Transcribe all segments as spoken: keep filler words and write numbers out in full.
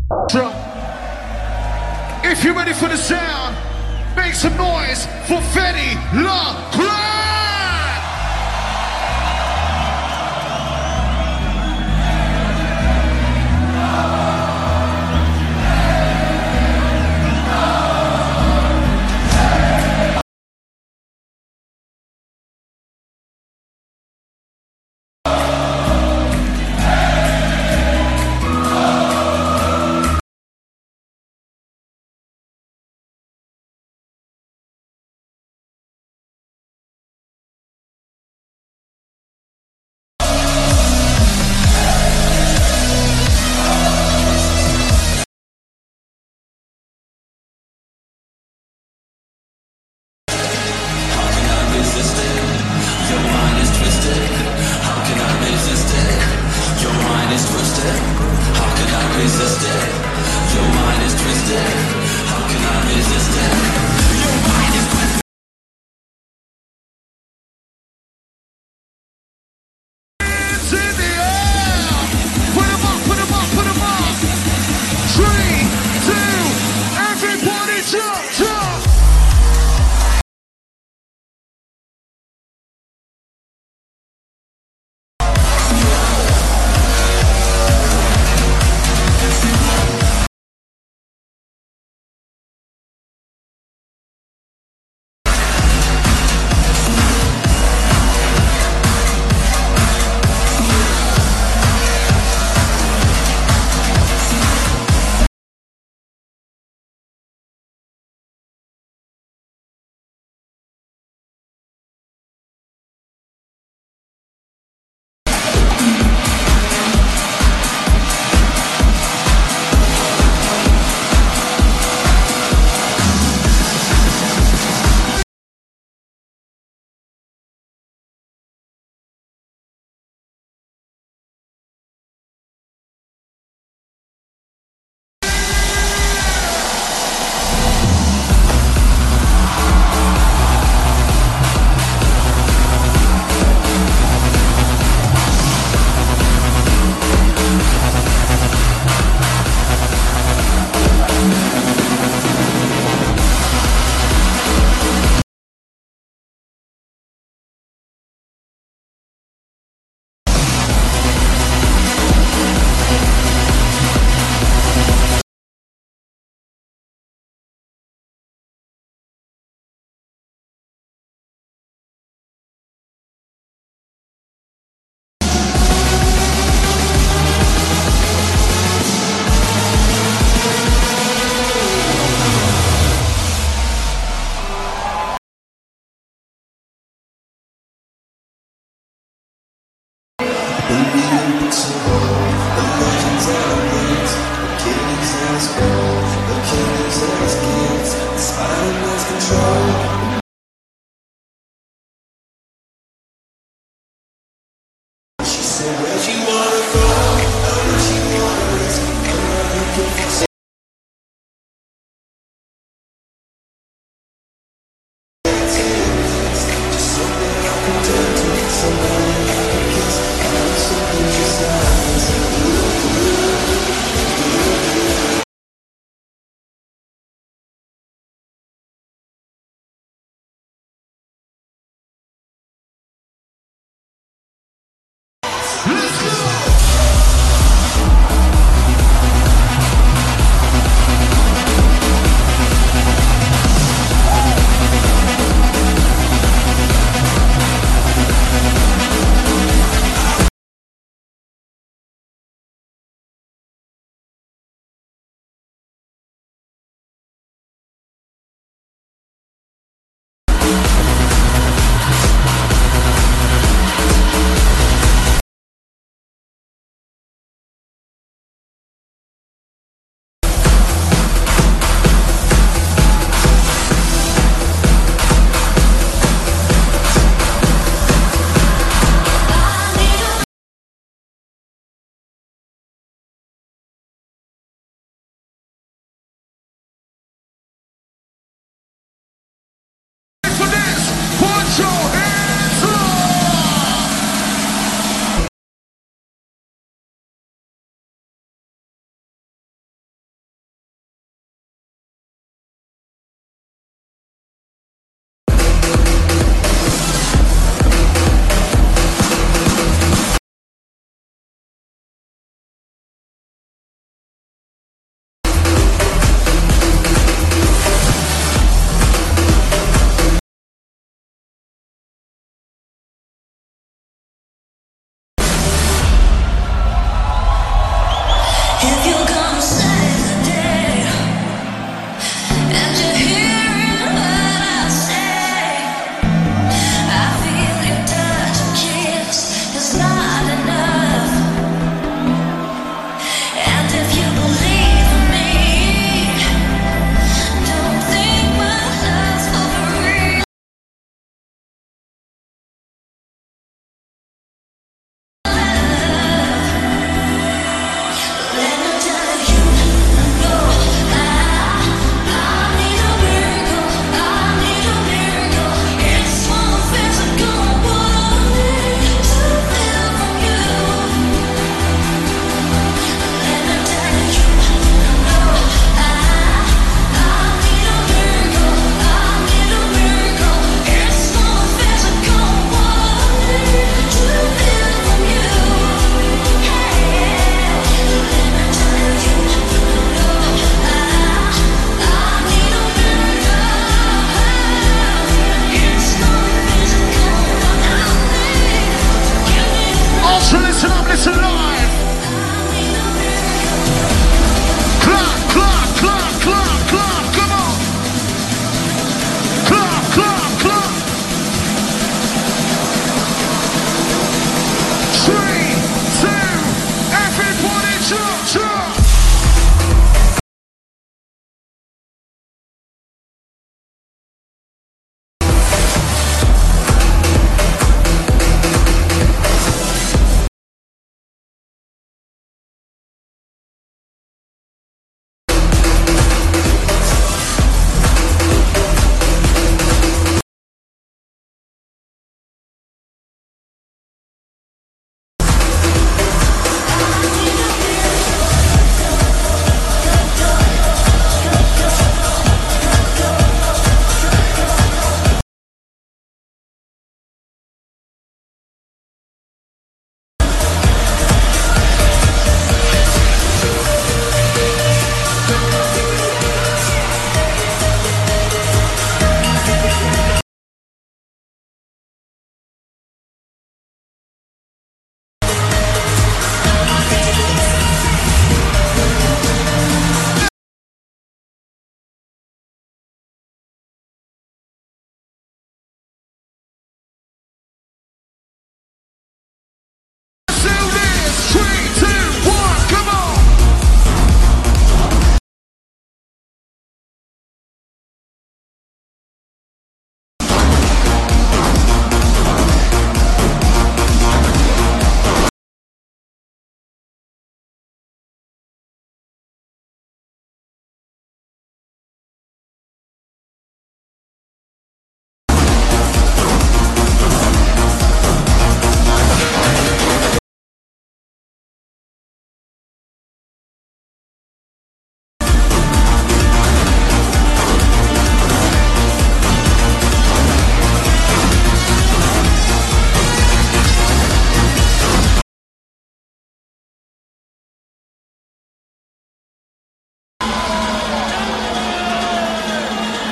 So, if you're ready for the sound, make some noise for Fetty La Crack!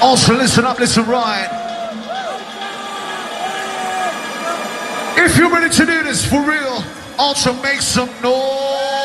Also, listen up, listen right. If you're ready to do this for real, also make some noise.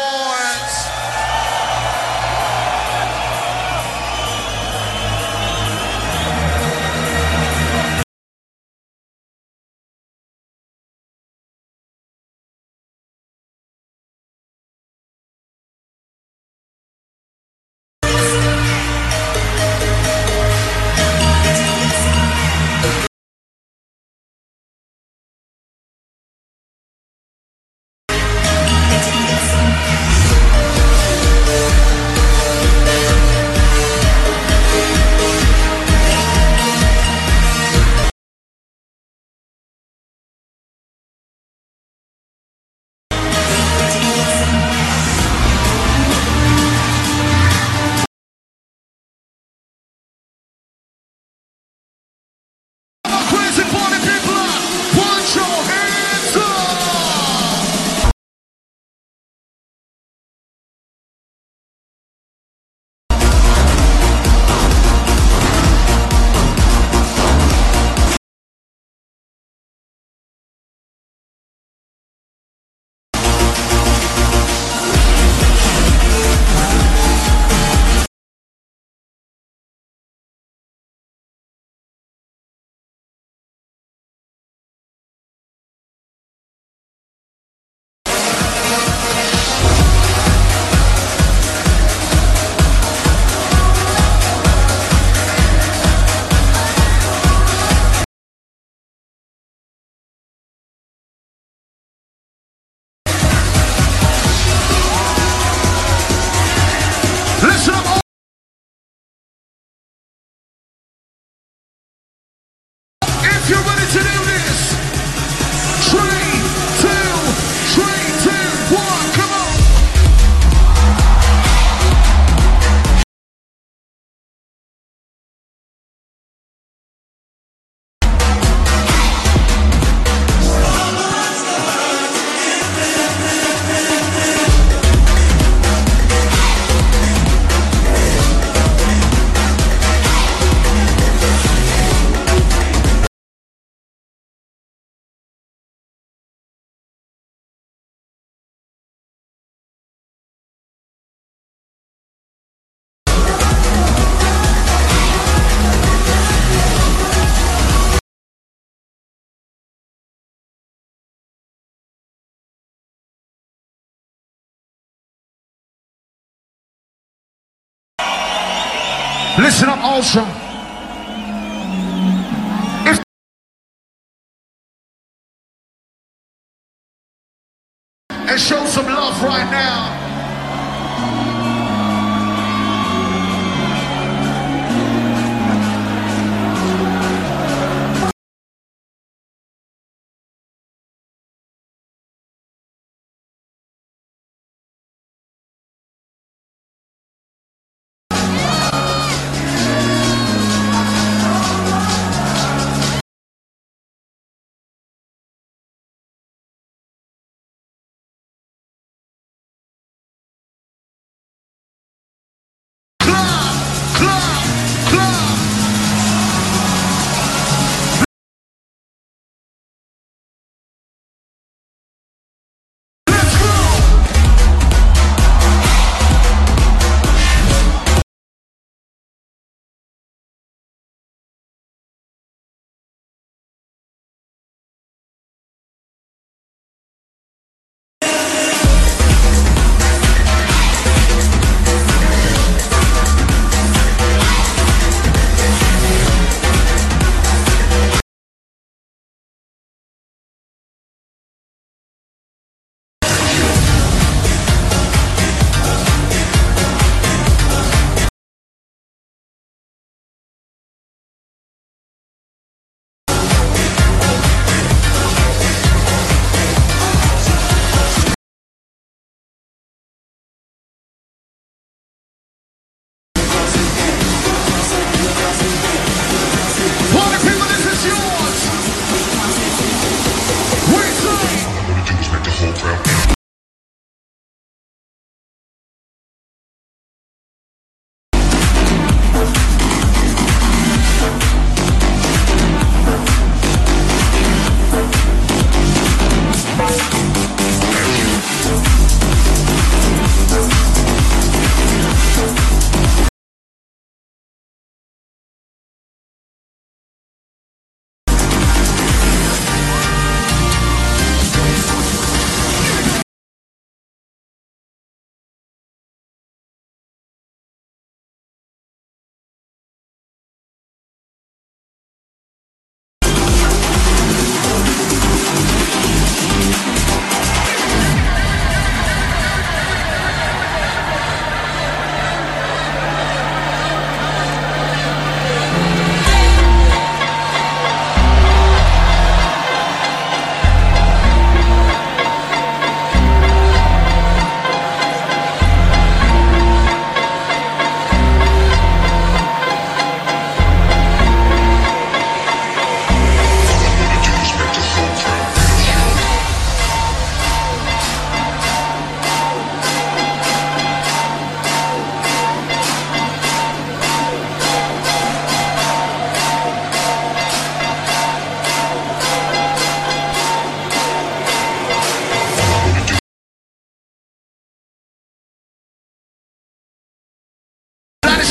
If you're ready to do this, three, two, three, two, one, come on. Listen up, Ultra. If and show some love right now.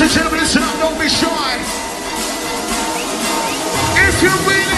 Ladies and gentlemen, listen up, don't be shy. If you're really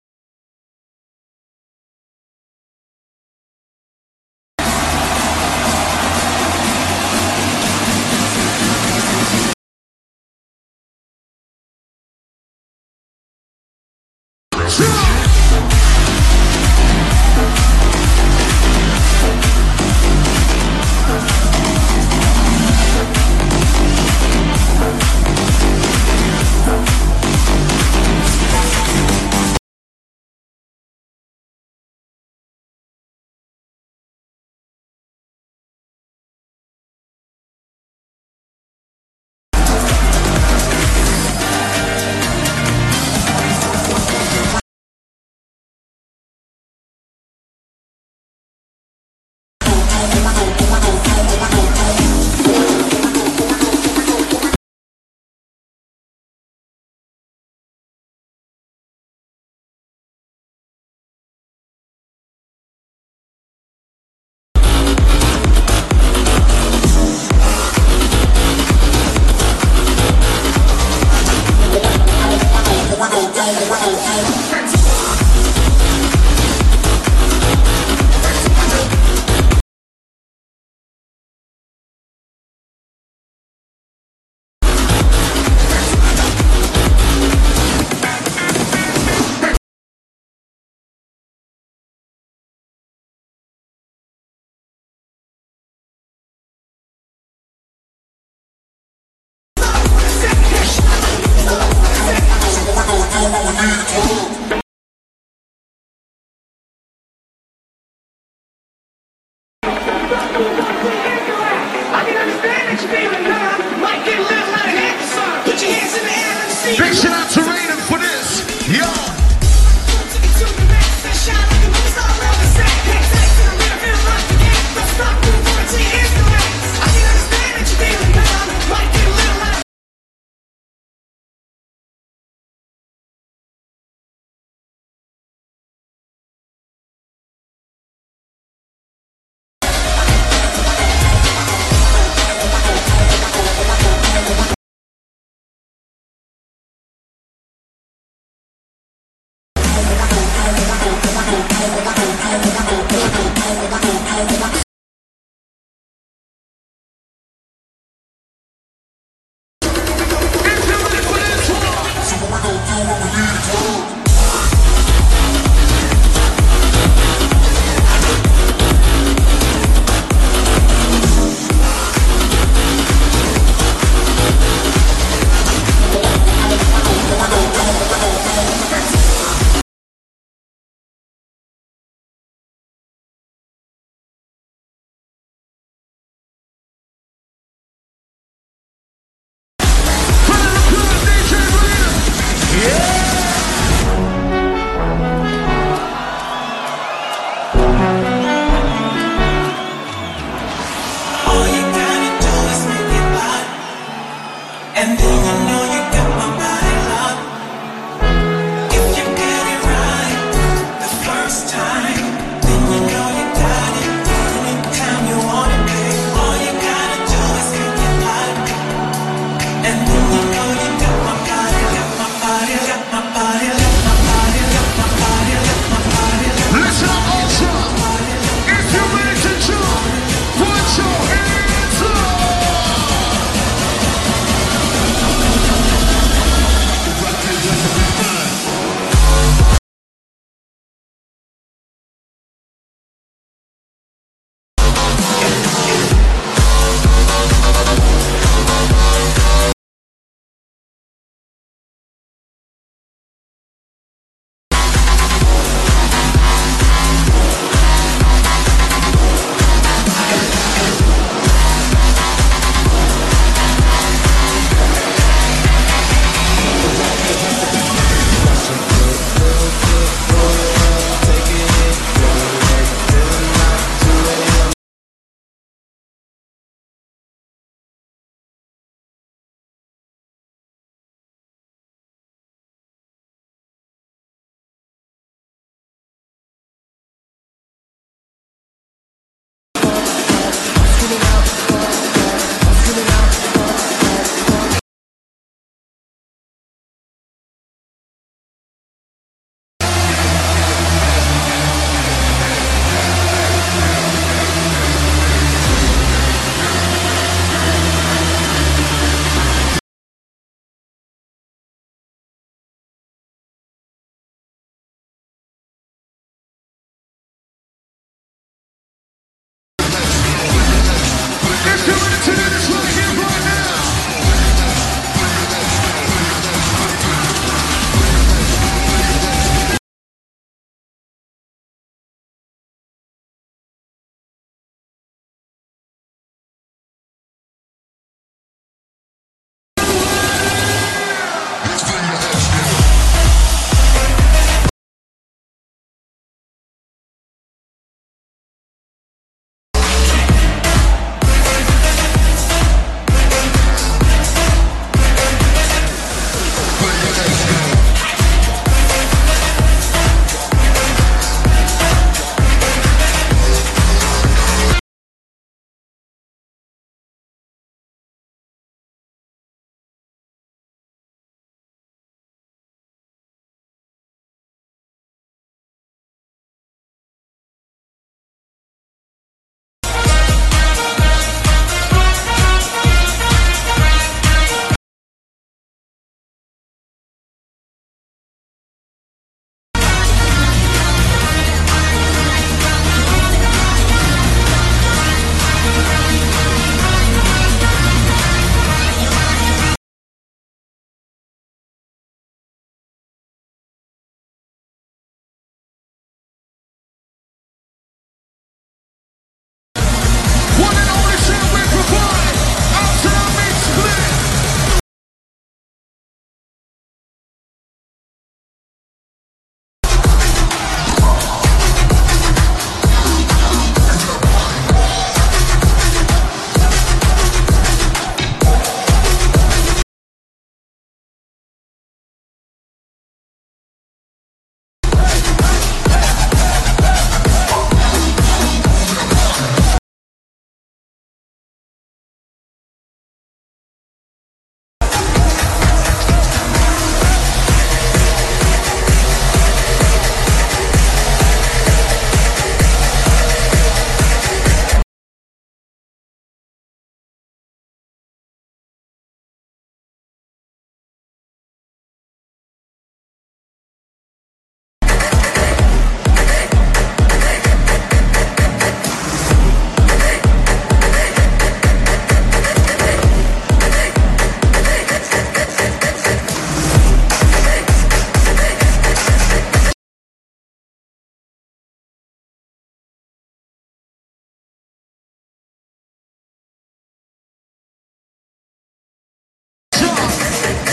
big shout out to Raiden for this. Yo.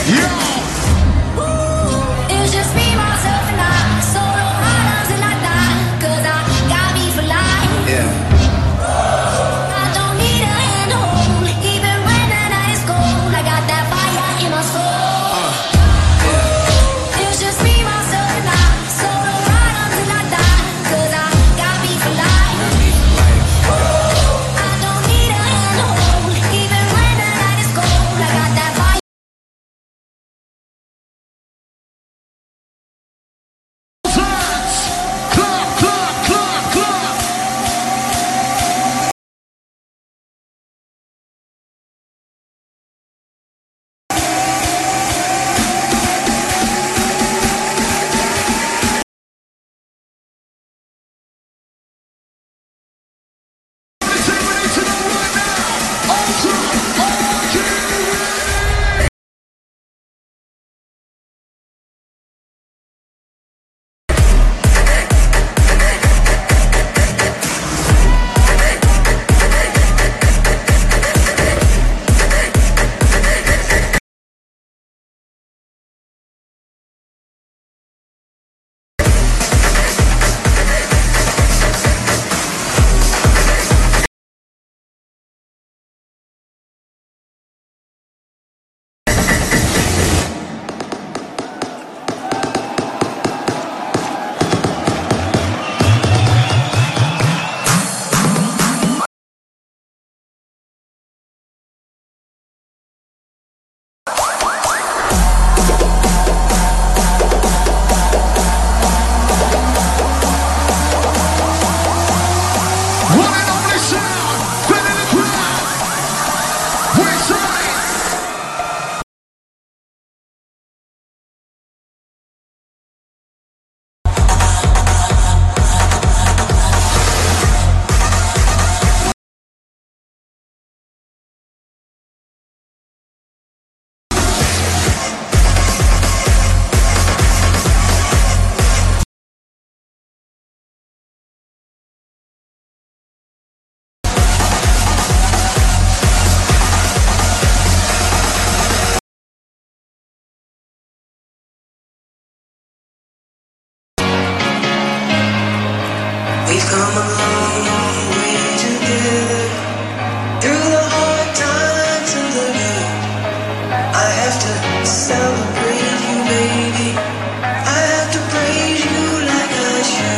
It's just me, myself, and I. Solo islands and I die. Cause I got me for life. Yeah. I don't need a hand to hold. Even when the night is cold, I got that fire in my soul. Uh, yeah. It's just me, myself, and I. Solo islands and I die. Cause I got me for life. Got me for life. I don't need a hand to hold. Even when the night is cold, I got that fire. Clap, clap, clap, clap. Everybody to know right now. Ultra, are you ready? One and only sound, fit in the crowd. We say, We've come a long way together, through the hard times and the good. I have to celebrate you, baby. I have to praise you like I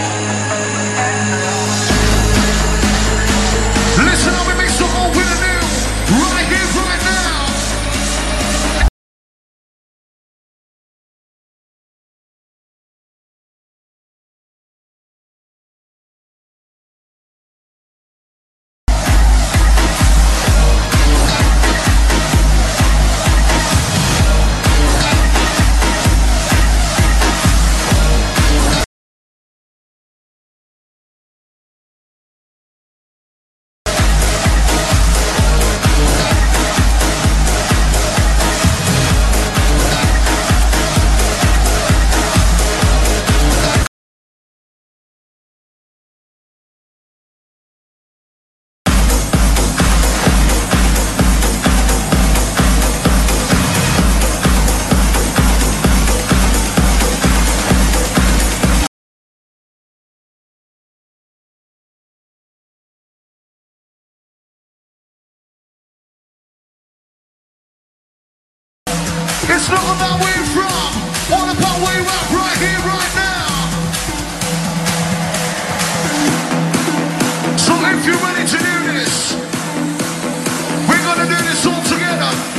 should. listen up and make some more with a new, right here, right now. It's not about where you're from, all about where you're at right here, right now. So if you're ready to do this, we're gonna do this all together.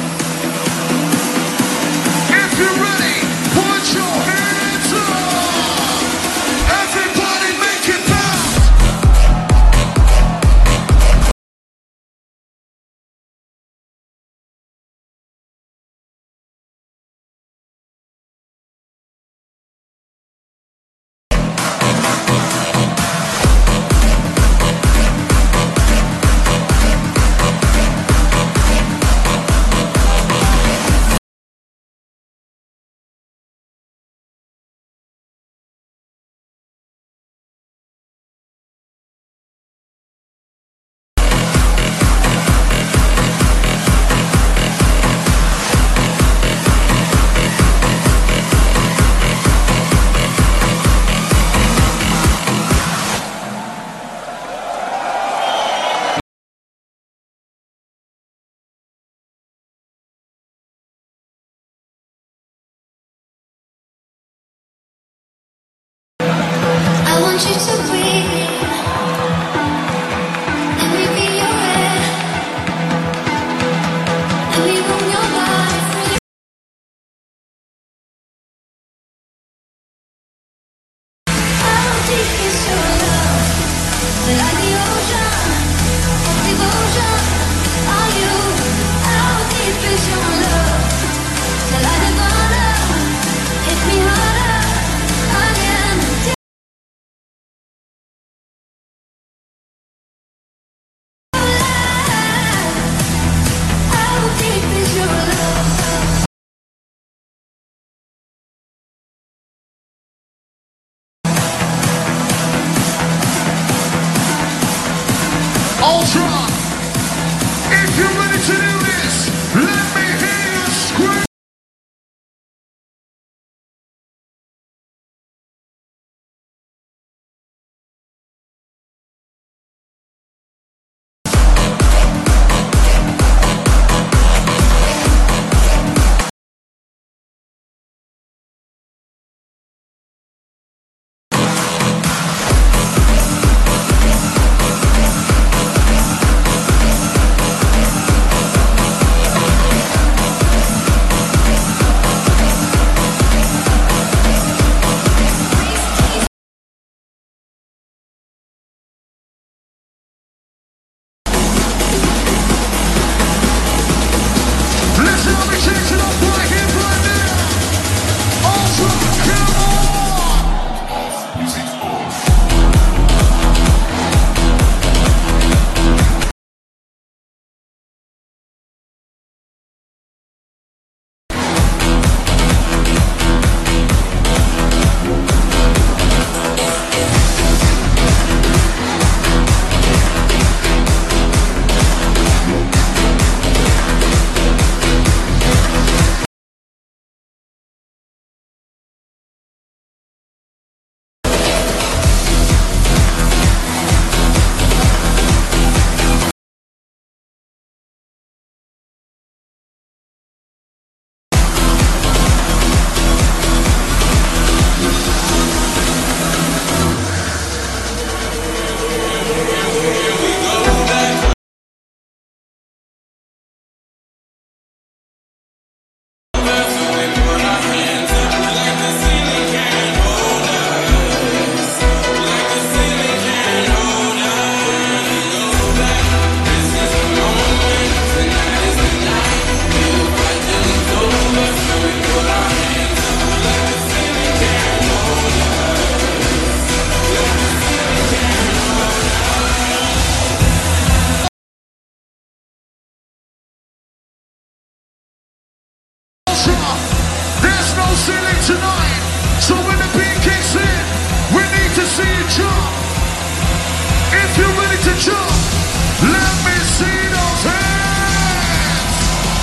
tonight. So when the beat kicks in, we need to see you jump. If you're ready to jump, let me see those hands.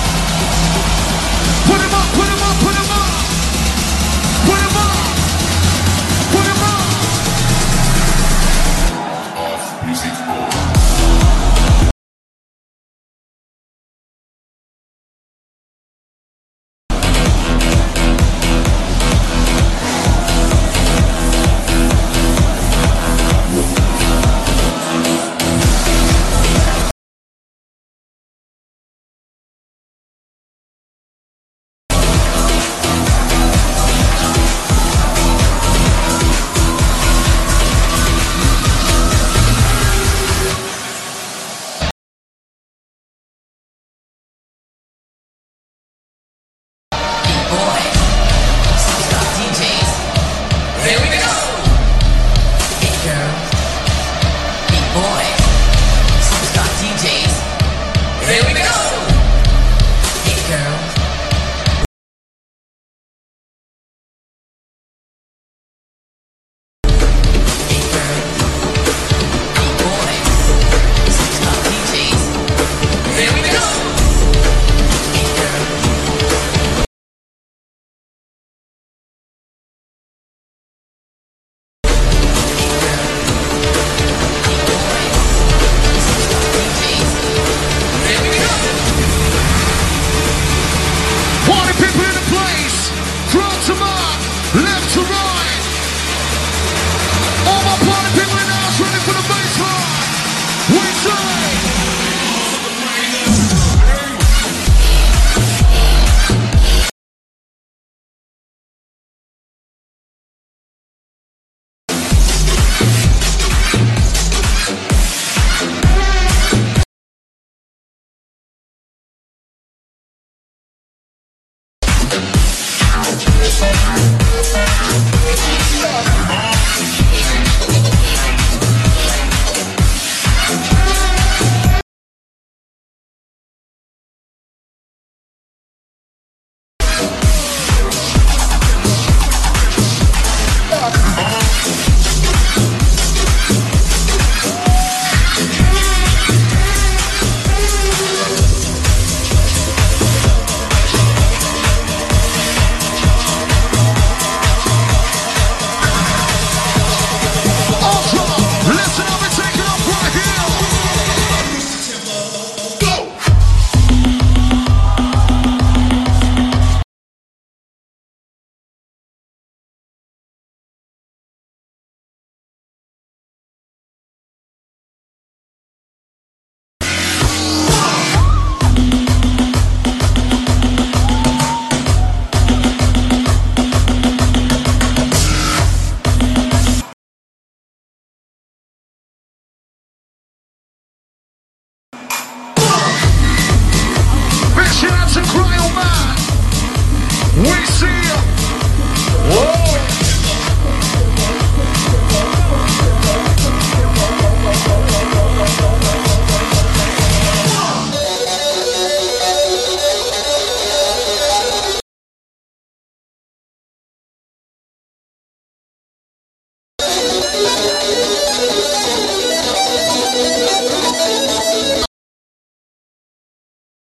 Put 'em up, put 'em up, put 'em up. Put 'em up. Put 'em up. Music.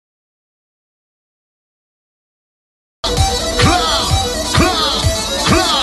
Clap,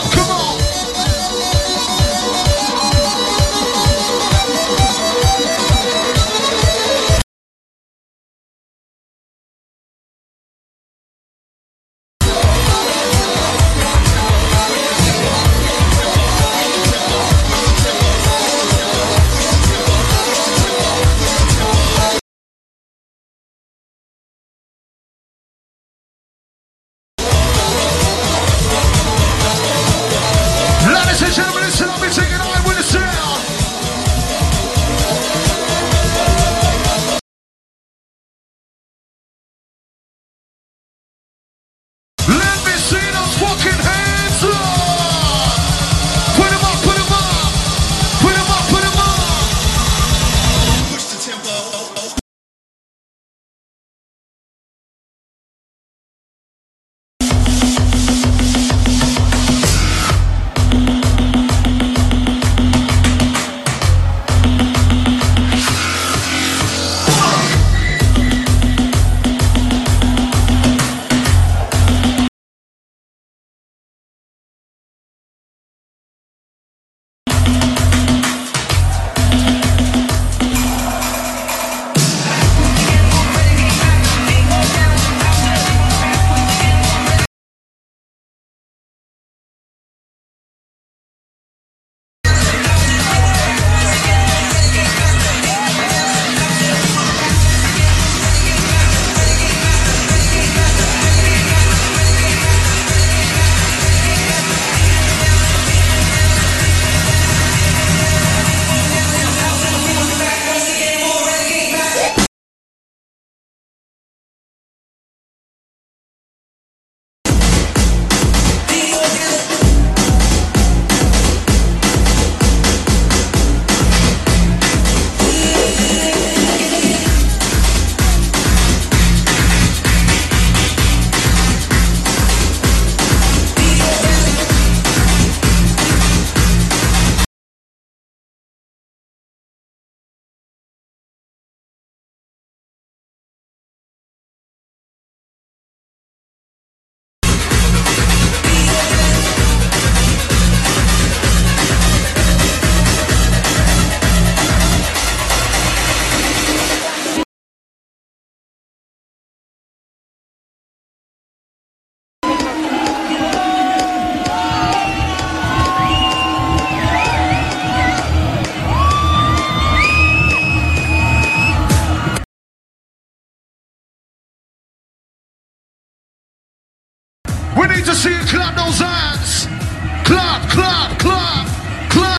We need to see you clap those hands. Clap, clap, clap, clap.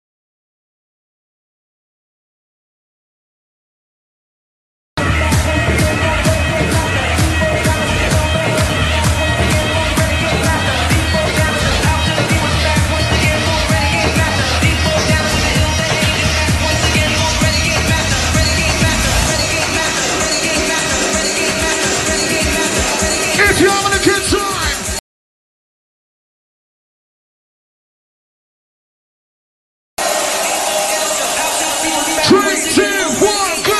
If you're having a good time, three, two, one, go!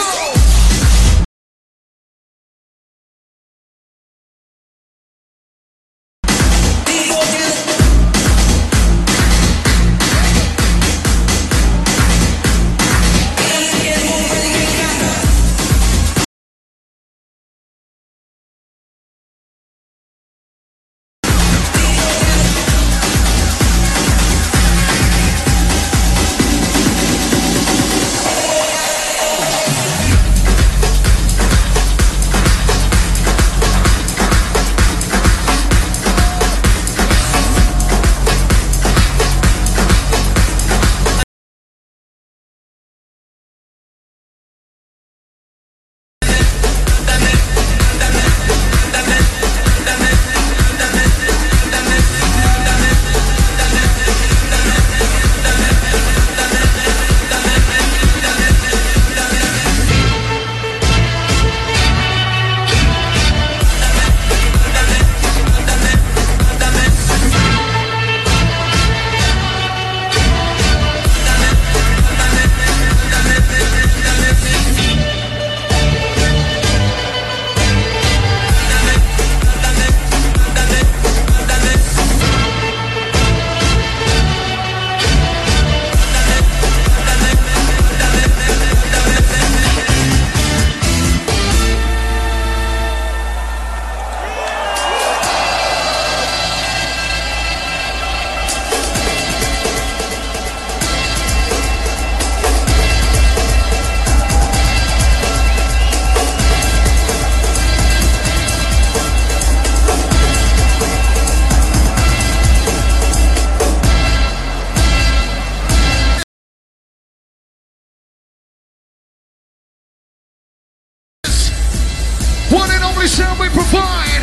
One and only sound we provide.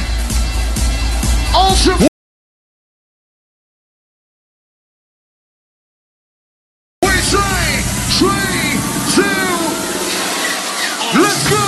Ultra. We say three, two, let's go.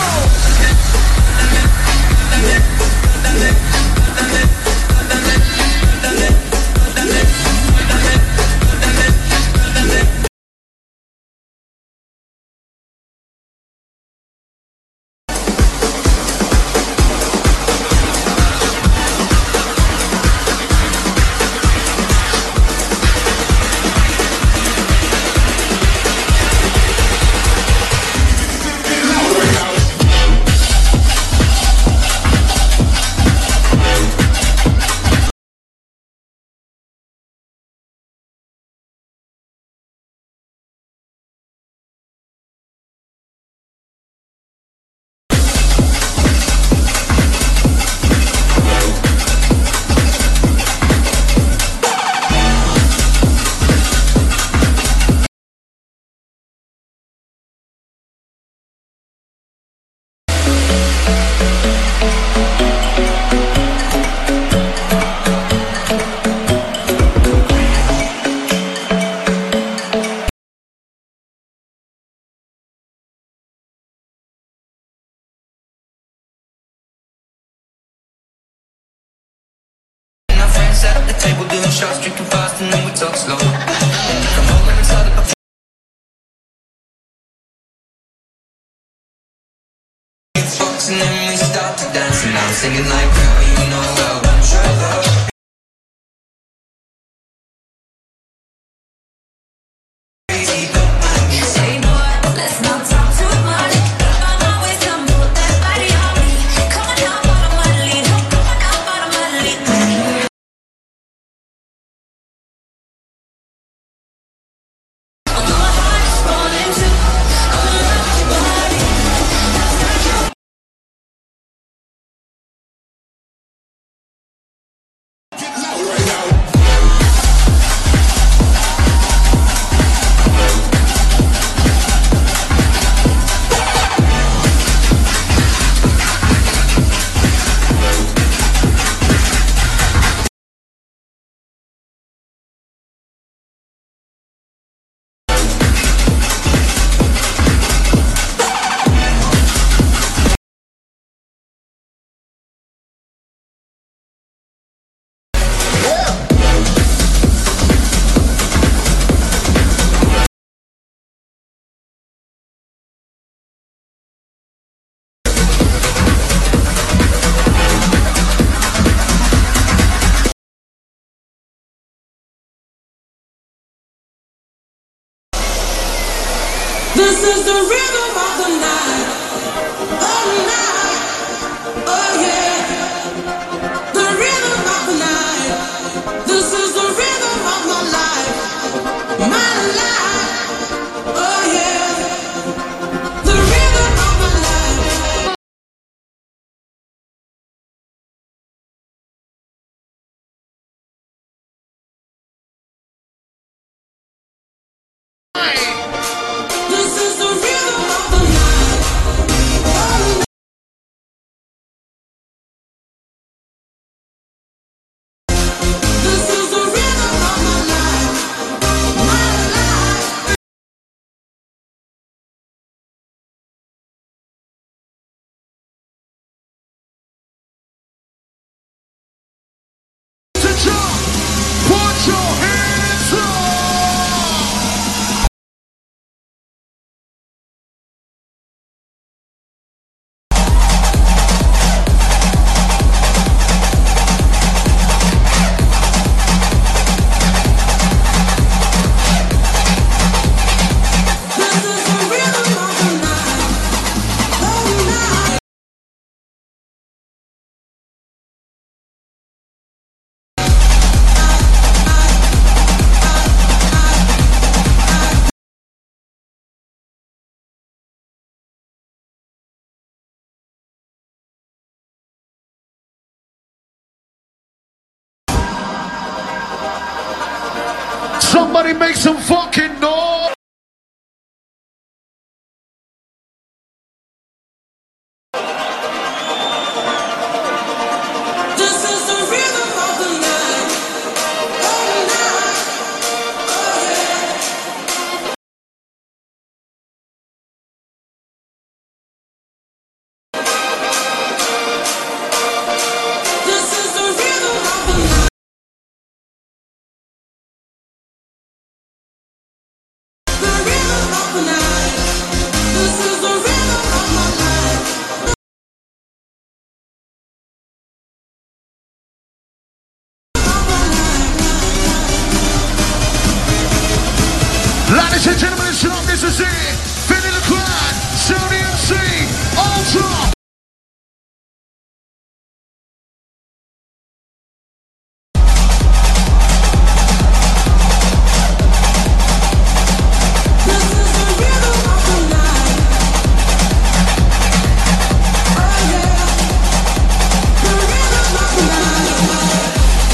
Set up the table, doing shots, drinking fast, and then we talk slow. Come over and start up a and then we start to dance, and I'm singing like, girl, you know I want your love. This is the rhythm of the night. Oh, night. Oh, yeah. The rhythm of the night. This is the rhythm of my life. My life. Oh, yeah. The rhythm of my life. This is the rhythm of the night. Oh, this is the rhythm of my life. My life. To jump, put your hands up. This is the rhythm of the night. Oh, night. Somebody make some fucking noise. This is the rhythm of the night. Oh, night. Oh, yeah. This is the rhythm of the night. The rhythm of the night. This is the rhythm of my life. Ladies and gentlemen, listen up, this is it. Vinny the Clan, Sony M C, Ultra. This is the rhythm of the night. Oh, yeah. The rhythm of the night.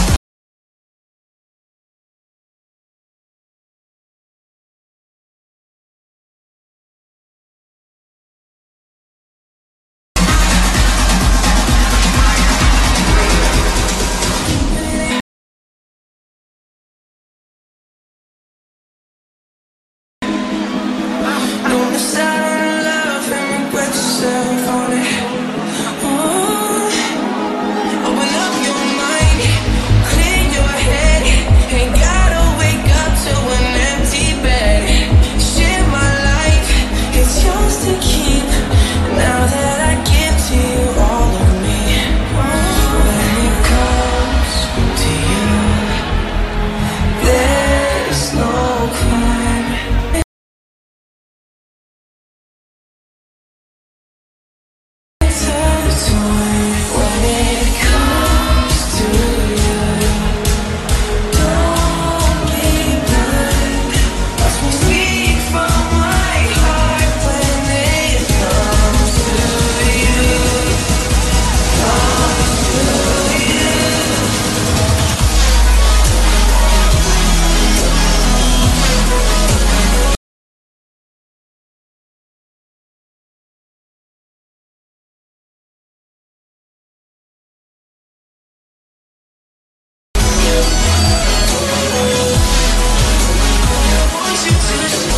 Don't miss out on love and regret yourself on it. Oh, open up your mind, clear your head. Ain't gotta wake up to an empty bed. Share my life, it's yours to keep. Now that I give to you all of me. When it comes to you, there's no crime. When it comes to you, don't be blind. Watch me speak from my heart. When it comes to you, comes to you. I want you to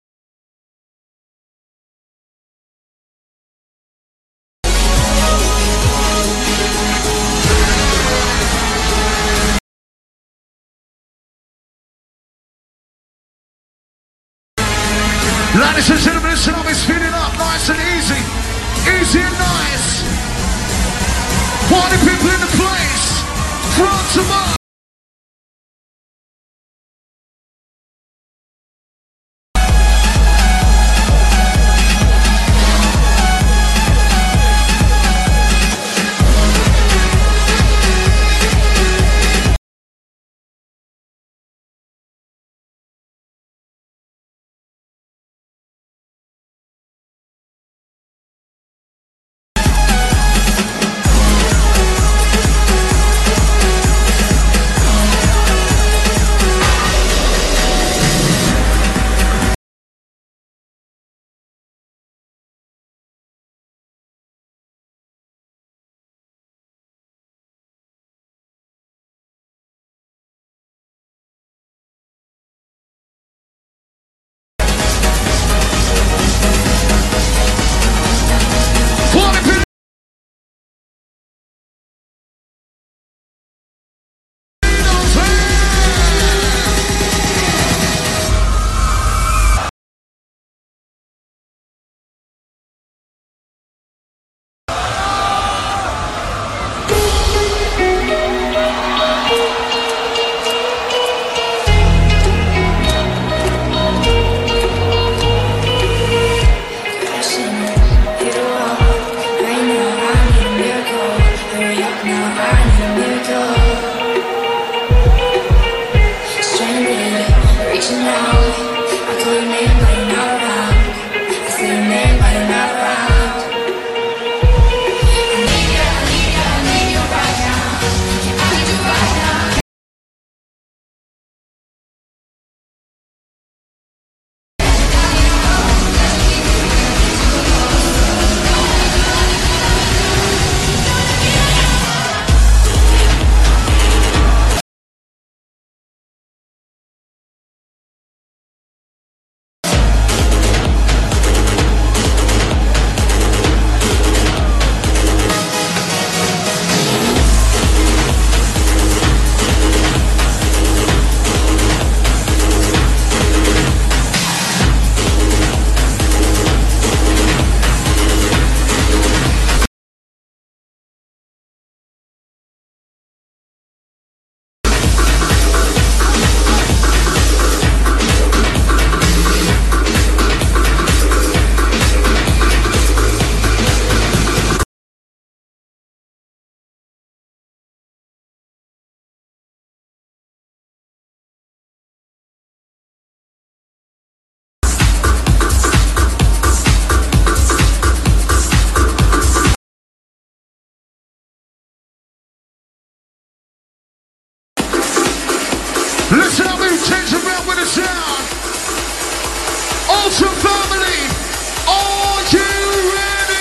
Ladies and gentlemen, listen up, it's feeling up nice and easy. Easy and nice. Party people in the place. Front to back. Listen how we change around with the sound. Ultra family, are you ready?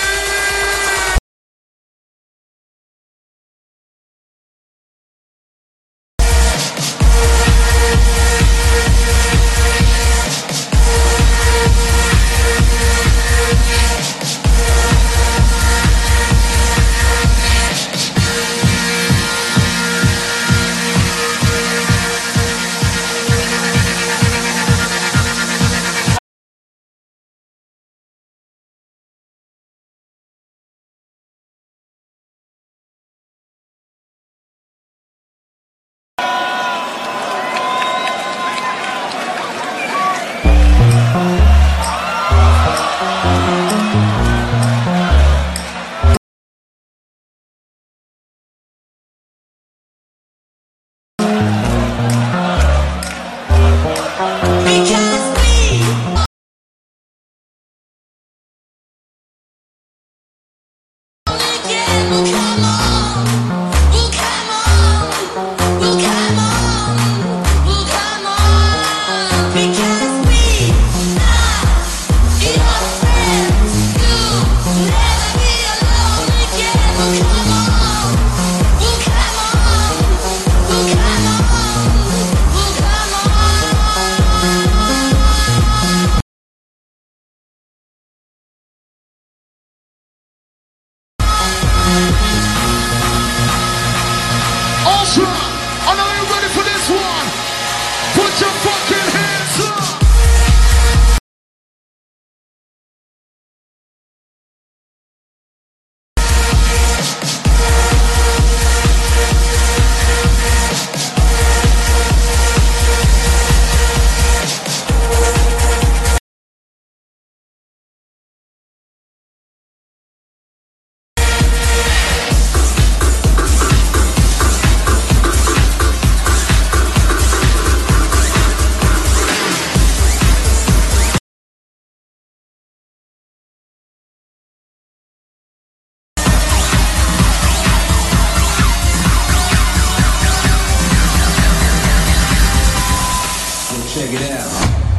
Check it out.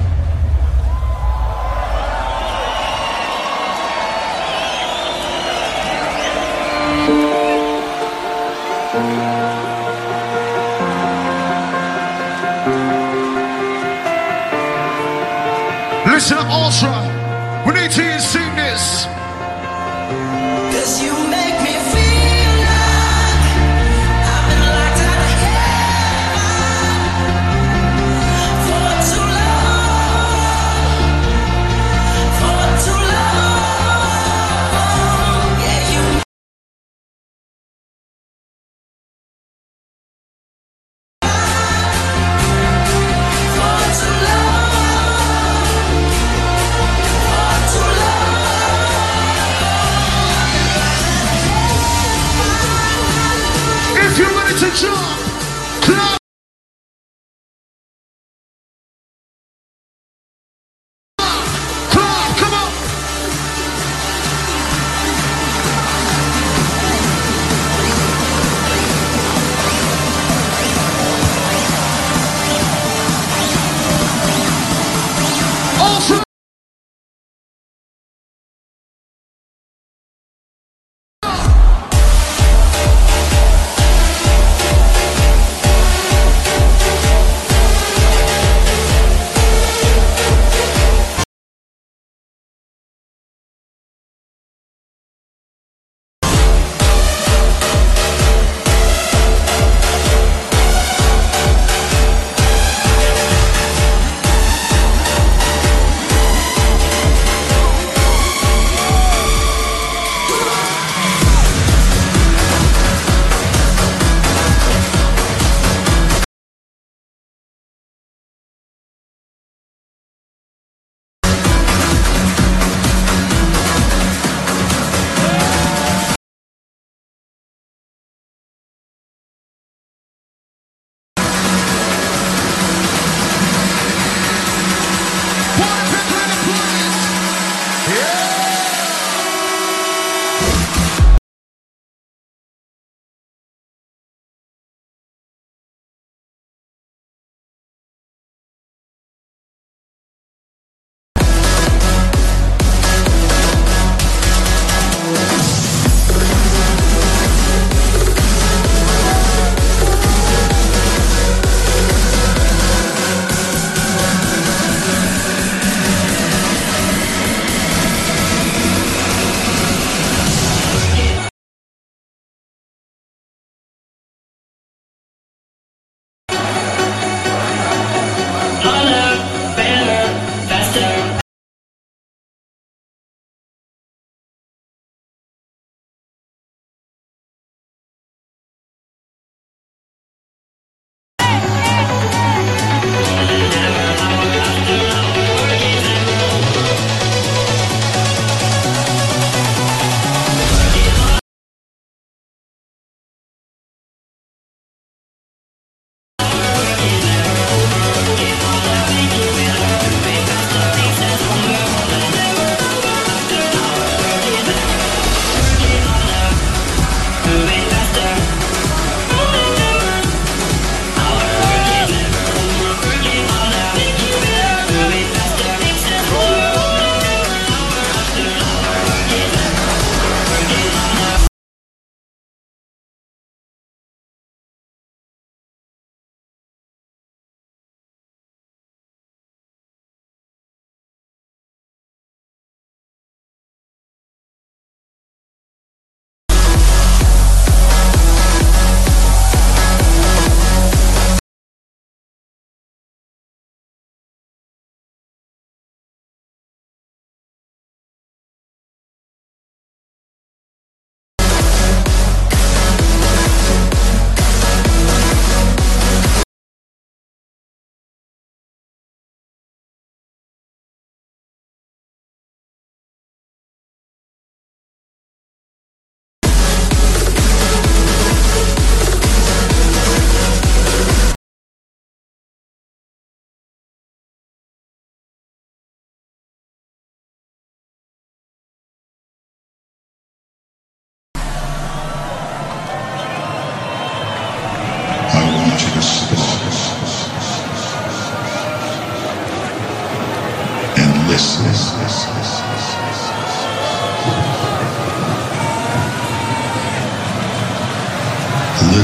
Listen up, Ultra. We need to hear you sing this. Cause you make me feel like I've been locked out of heaven for too long, for too long. Yeah, you for too long, for too long.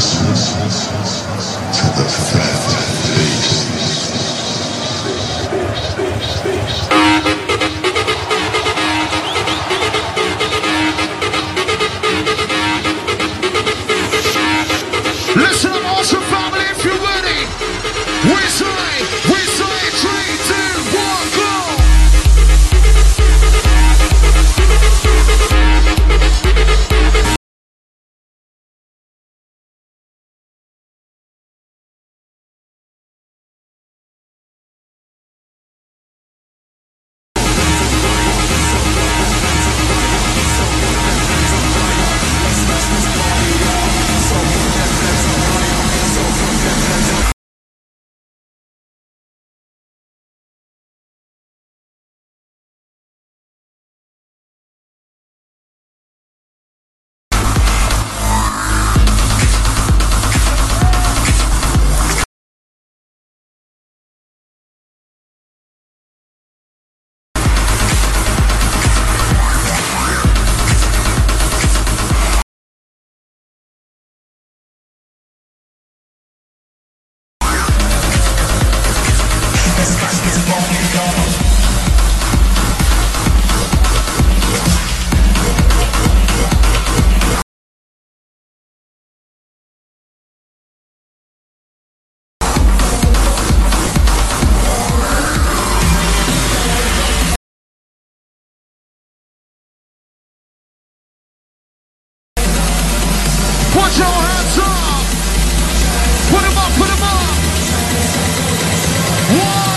Put your hands up. Put them up, put them up. One.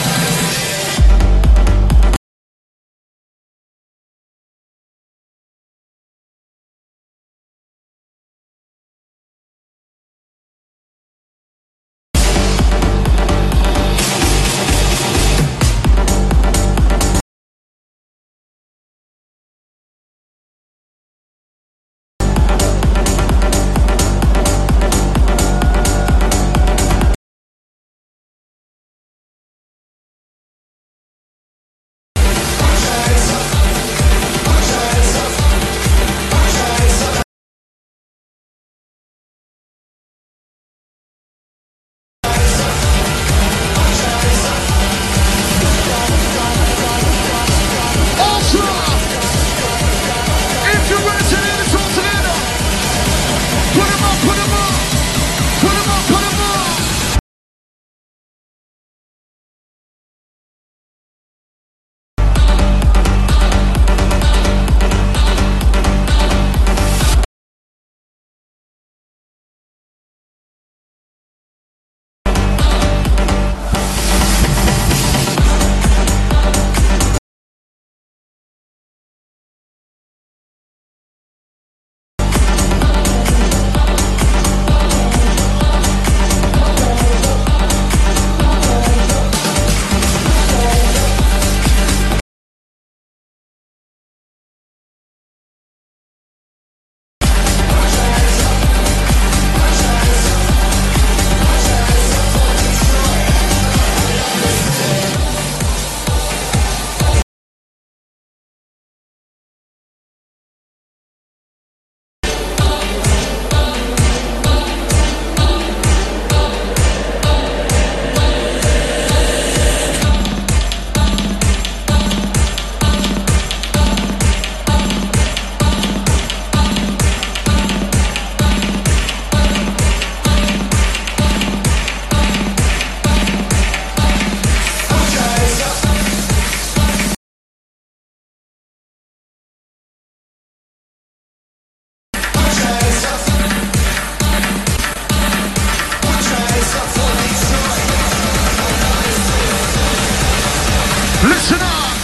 Listen up,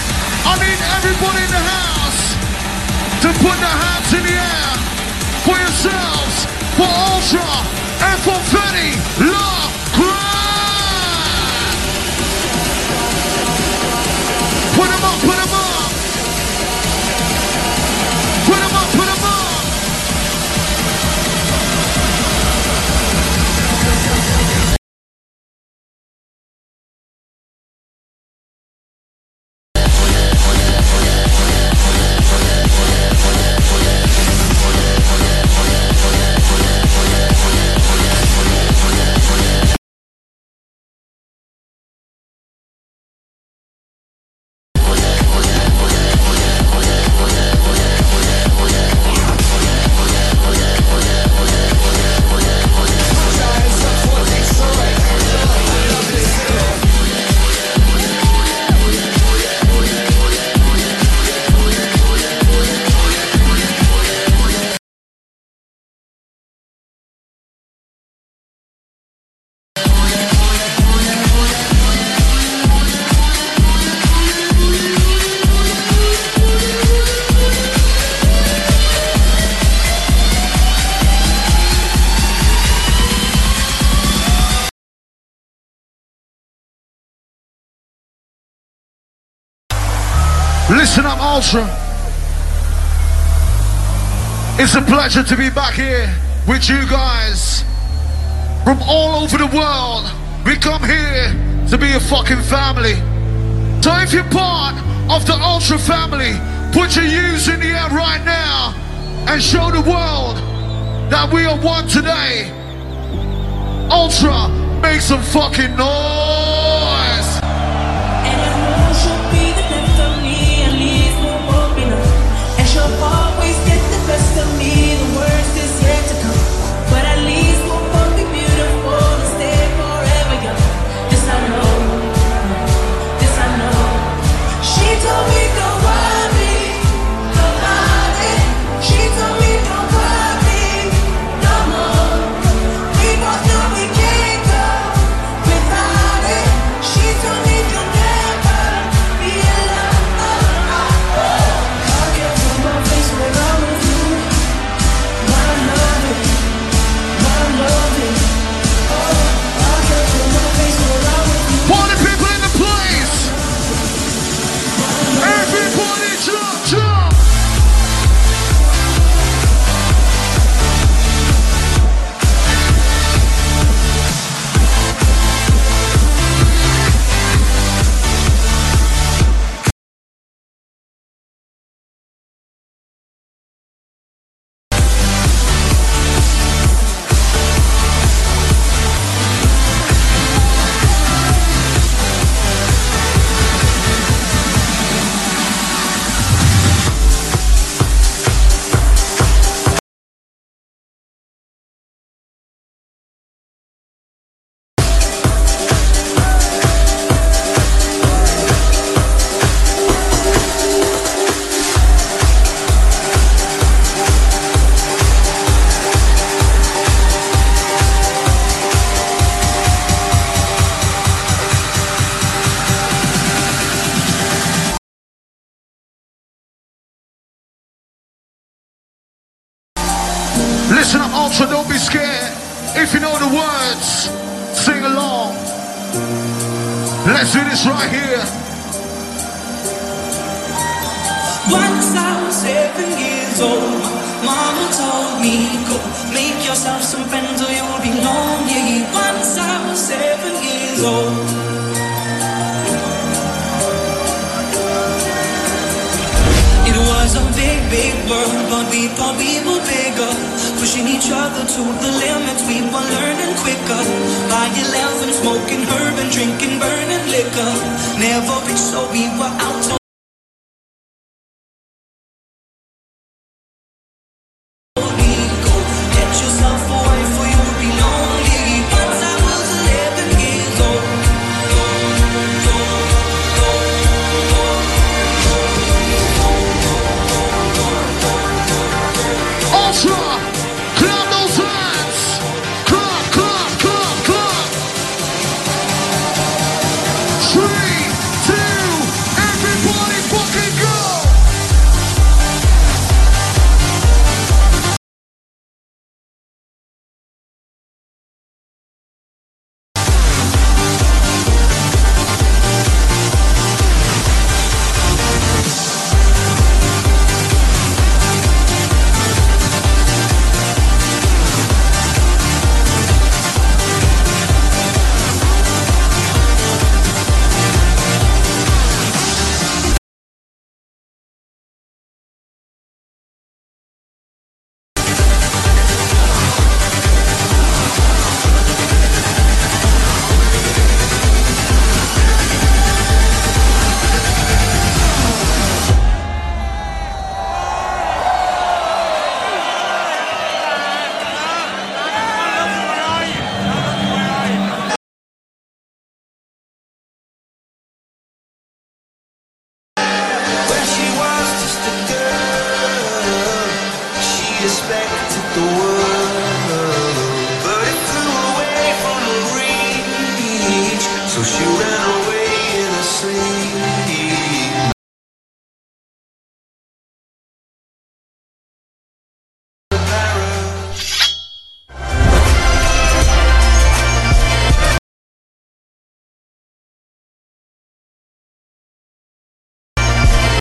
I need everybody in the house to put their hands in the air for yourselves, for Ultra, and for Fetty La Crime. Put them up, put them up. Put them up, put them up. Listen up, Ultra. It's a pleasure to be back here with you guys from all over the world. We come here to be a fucking family. So if you're part of the Ultra family, put your U's in the air right now and show the world that we are one today. Ultra, make some fucking noise. And I know she'll be the best of me, at least we're both enough. And she'll always get the best of me, the worst is yet to come. But at least we'll both be beautiful and stay forever young. This I know, this I know. She told me don't worry about it. She told me don't worry no more. We both know we can't go without it. She told me you'll never be alone. I can't put my face where I'm with you. My loving, my loving. Oh, I can't put my face where I'm with you. Party people in the place. Everybody jump, jump. Listen up, Ultra, don't be scared. If you know the words, sing along. Let's do this right here. Once I was seven years old, Mama told me, go make yourself some friends or you'll be lonely. Once I was seven years old. It was a big, big world, but we thought we were bigger. Pushing each other to the limits, we were learning quicker. By eleven, smoking herb and drinking burning liquor. Never rich, so we were out to Respected the world.